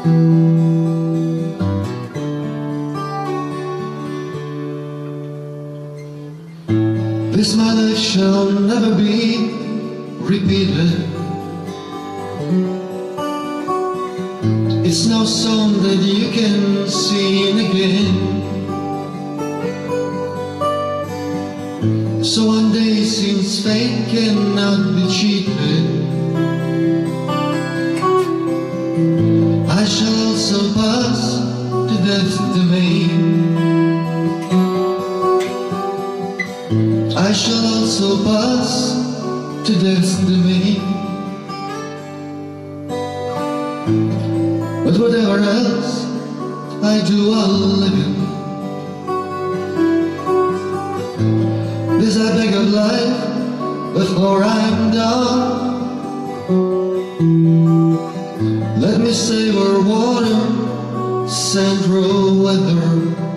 This my life shall never be repeated. It's no song that you can sing again. So one day, since fate cannot be cheated, I shall also pass to death's domain. I shall also pass to death's domain. But whatever else I do, I'll live in. This I beg of life before I'm done. Let me savor water, central weather.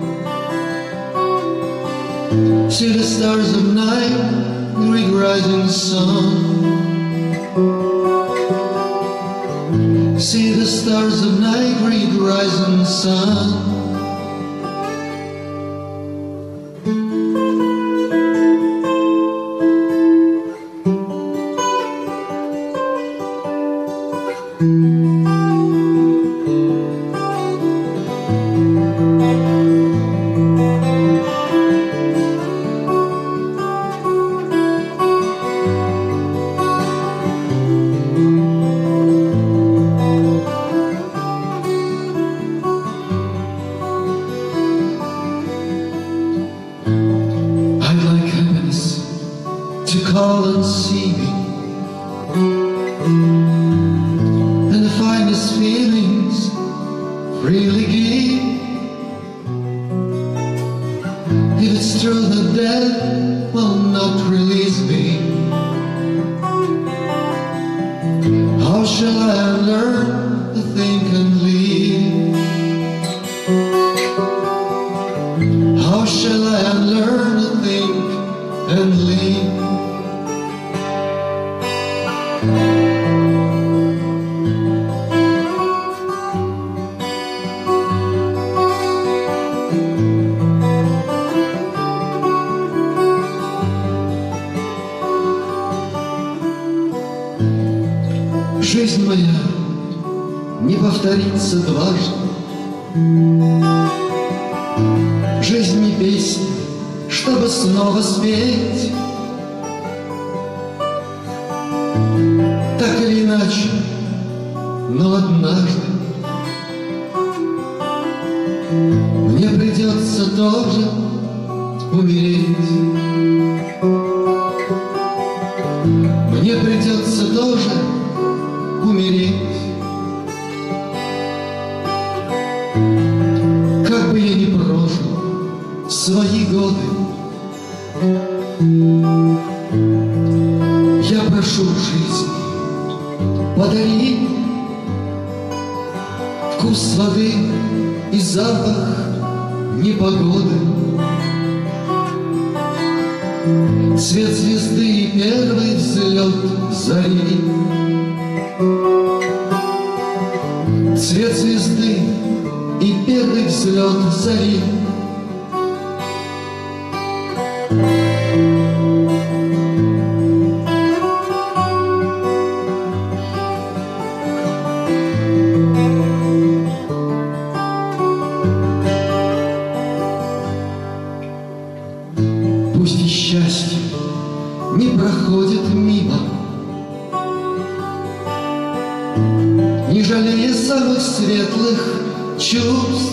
See the stars of night, greet rising sun. See the stars of night, greet rising sun. To call and see me, and the finest feelings freely give. If it's true that death will not release me, how shall I learn to think and live? How shall I learn to think and live? Жизнь моя не повторится дважды. Жизнь не песня, чтобы снова спеть. Так или иначе, но однажды мне придется тоже умереть. Мне придется тоже умереть. Как бы я ни прожил свои годы, я прошу жизни, подари вкус воды и запах непогоды, цвет звезды и первый взлет зари. Цвет звезды и первый взлет зари. Пусть и счастье не проходит мимо, не жалея самых светлых чувств.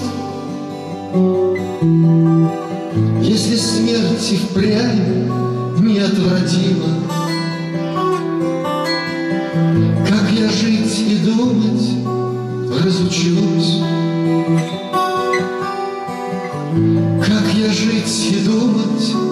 Если смерть и впрямь неотвратима, как я жить и думать разучусь. Как я жить и думать